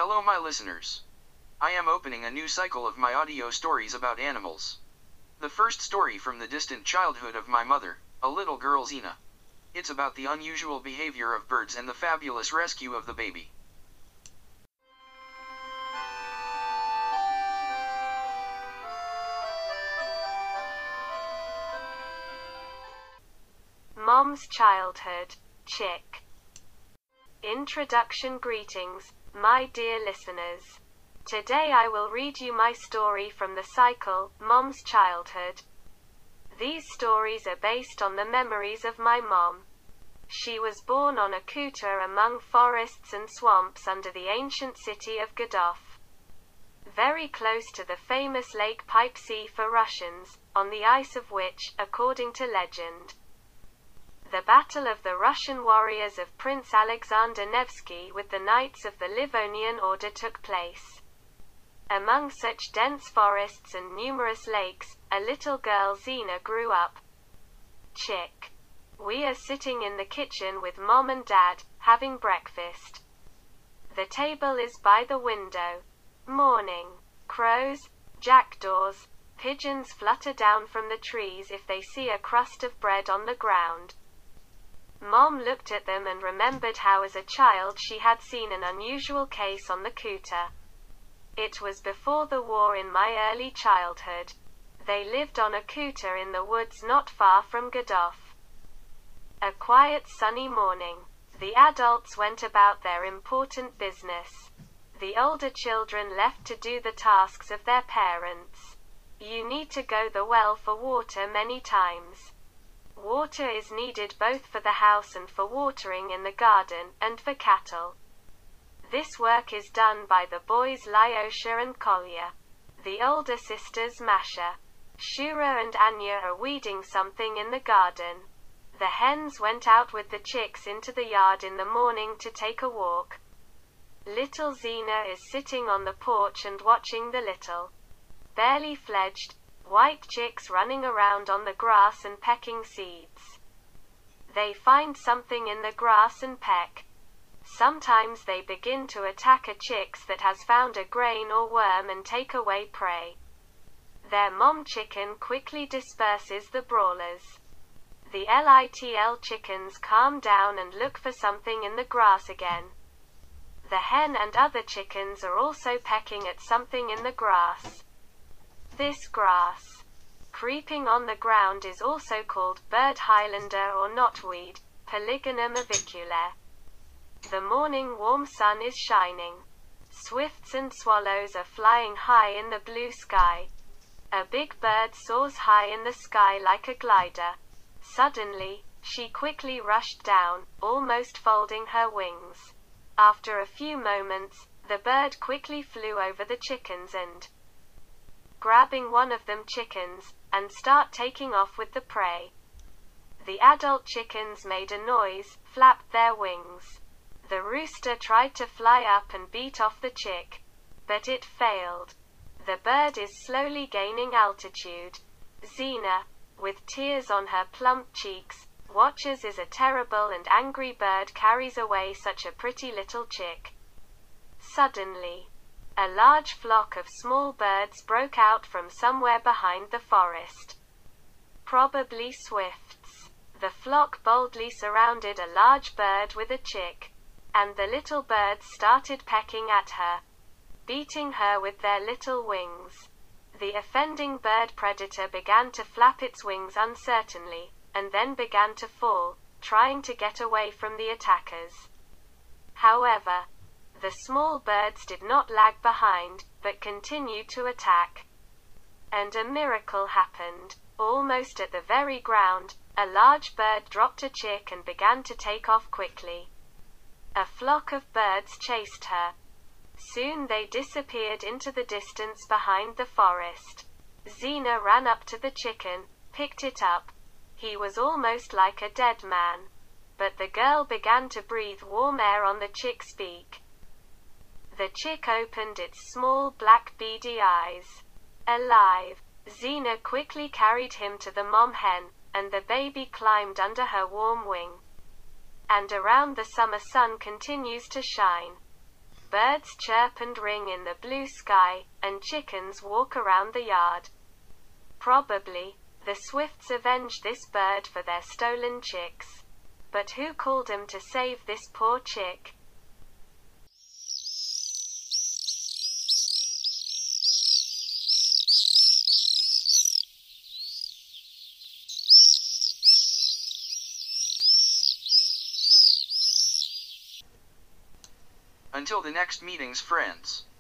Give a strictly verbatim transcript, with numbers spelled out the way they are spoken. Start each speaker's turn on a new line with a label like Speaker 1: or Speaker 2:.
Speaker 1: Hello my listeners. I am opening a new cycle of my audio stories about animals. The first story from the distant childhood of my mother, a little girl Xena. It's about the unusual behavior of birds and the fabulous rescue of the baby.
Speaker 2: Mom's childhood, chick. Introduction. Greetings, my dear listeners. Today I will read you my story from the cycle, Mom's Childhood. These stories are based on the memories of my mom. She was born on a kuta among forests and swamps under the ancient city of Gadov, very close to the famous Lake Pipe Sea for Russians, on the ice of which, according to legend, the battle of the Russian warriors of Prince Alexander Nevsky with the Knights of the Livonian Order took place. Among such dense forests and numerous lakes, a little girl Xena grew up. Chick. We are sitting in the kitchen with Mom and Dad, having breakfast. The table is by the window. Morning. Crows, jackdaws, pigeons flutter down from the trees if they see a crust of bread on the ground. Mom looked at them and remembered how as a child she had seen an unusual case on the kuta. It was before the war in my early childhood. They lived on a kuta in the woods not far from Gadov. A quiet sunny morning. The adults went about their important business. The older children left to do the tasks of their parents. You need to go the well for water many times. Water is needed both for the house and for watering in the garden, and for cattle. This work is done by the boys Lyosha and Kolya. The older sisters Masha, Shura and Anya are weeding something in the garden. The hens went out with the chicks into the yard in the morning to take a walk. Little Xena is sitting on the porch and watching the little, barely fledged, white chicks running around on the grass and pecking seeds. They find something in the grass and peck. Sometimes they begin to attack a chicks that has found a grain or worm and take away prey. Their mom chicken quickly disperses the brawlers. The little chickens calm down and look for something in the grass again. The hen and other chickens are also pecking at something in the grass. This grass, creeping on the ground, is also called bird highlander or knotweed, Polygonum aviculaire. The morning warm sun is shining. Swifts and swallows are flying high in the blue sky. A big bird soars high in the sky like a glider. Suddenly, she quickly rushed down, almost folding her wings. After a few moments, the bird quickly flew over the chickens and, grabbing one of them chickens, and start taking off with the prey. The adult chickens made a noise, flapped their wings. The rooster tried to fly up and beat off the chick, but it failed. The bird is slowly gaining altitude. Xena, with tears on her plump cheeks, watches as a terrible and angry bird carries away such a pretty little chick. Suddenly, a large flock of small birds broke out from somewhere behind the forest. Probably swifts. The flock boldly surrounded a large bird with a chick, and the little birds started pecking at her, beating her with their little wings. The offending bird predator began to flap its wings uncertainly, and then began to fall, trying to get away from the attackers. However, the small birds did not lag behind, but continued to attack. And a miracle happened. Almost at the very ground, a large bird dropped a chick and began to take off quickly. A flock of birds chased her. Soon they disappeared into the distance behind the forest. Xena ran up to the chicken, picked it up. He was almost like a dead man. But the girl began to breathe warm air on the chick's beak. The chick opened its small black beady eyes. Alive. Xena quickly carried him to the mom hen, and the baby climbed under her warm wing. And around the summer sun continues to shine. birds chirp and ring in the blue sky, and chickens walk around the yard. Probably, the Swifts avenged this bird for their stolen chicks. But who called 'em to save this poor chick?
Speaker 1: Until the next meetings, friends.